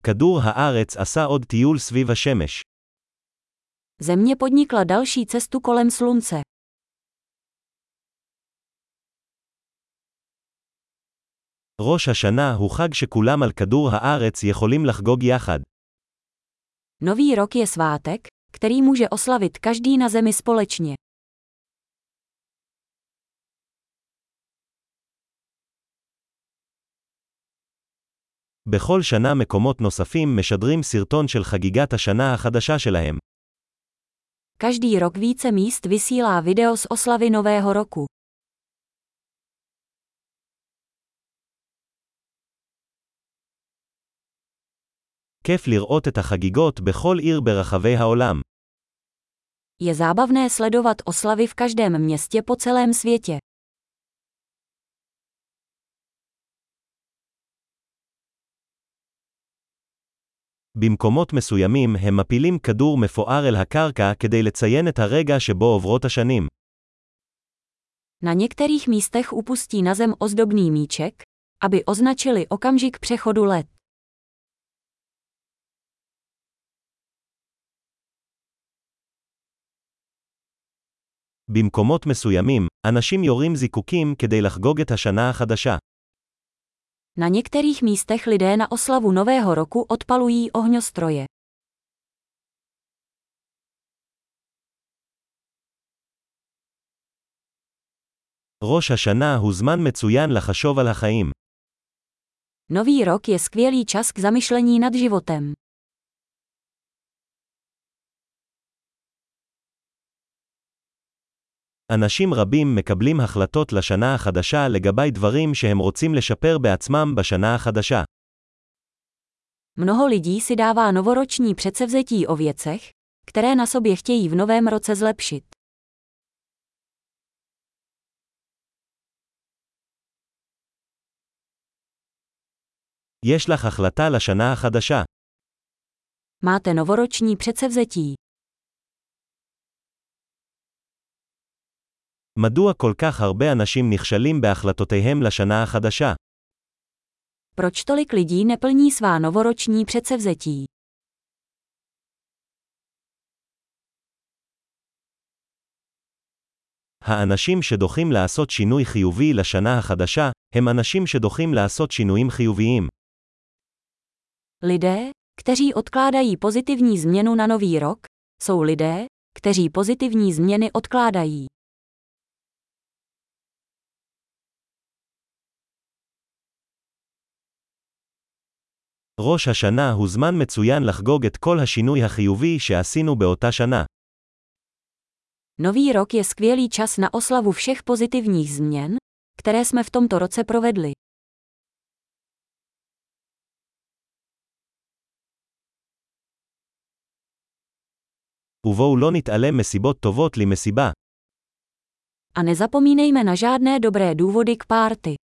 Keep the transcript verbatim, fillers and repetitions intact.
כדור הארץ עשה עוד טיול סביב השמש. Země podnikla další cestu kolem slunce. ראש השנה הוא חג שכולם על כדור הארץ יכולים לחגוג יחד. Nový rok je svátek, který může oslavit každý na zemi společně. בכל שנה מקומות נוספים משדרים סרטון של חגיגת השנה החדשה שלהם. Každý rok více míst vysílá video z oslavy Nového roku. כיף לראות את החגיגות בכל עיר ברחבי העולם. Je zábavné sledovat oslavy v každém městě po celém světě. במקומות מסוימים הם מפילים כדור מפואר אל הקרקע כדי לציין את הרגע שבו עוברות השנים. Na některých místech upustí na zem ozdobný míček, aby označili okamžik přechodu let. במקומות מסוימים, אנשים יורים זיקוקים כדי לחגוג את השנה החדשה. Na některých místech lidé na oslavu Nového roku odpalují ohňostroje. ראש השנה הוא זמן מצוין לחשוב על החיים. Nový rok je skvělý čas k zamyšlení nad životem. אנשים רבים מקבלים החלטות לשנה החדשה לגבי דברים שהם רוצים לשפר בעצמם בשנה החדשה. Mnoho lidí si dává novoroční předsevzetí o věcech, které na sobě chtějí v novém roce zlepšit. יש לך החלטה לשנה החדשה. Máte novoroční předsevzetí. מדוע כל כך הרבה אנשים נכשלים בהחלטותיהם לשנה החדשה? Proč tolik lidí neplní svá novoroční předsevzetí? האנשים שדוחים לעשות שינוי חיובי לשנה החדשה, הם אנשים שדוחים לעשות שינויים חיוביים. Lidé, kteří odkládají pozitivní změnu na nový rok, jsou lidé, kteří pozitivní změny odkládají. ראש השנה הוא זמן מצוין לחגוג את כל השינוי החיובי שעשינו באותה שנה. Nový rok je skvělý čas na oslavu všech pozitivních změn, které jsme v tomto roce provedli. ובואו לא נתעלם מסיבות טובות למסיבה. A nezapomínejme na žádné dobré důvody k párty.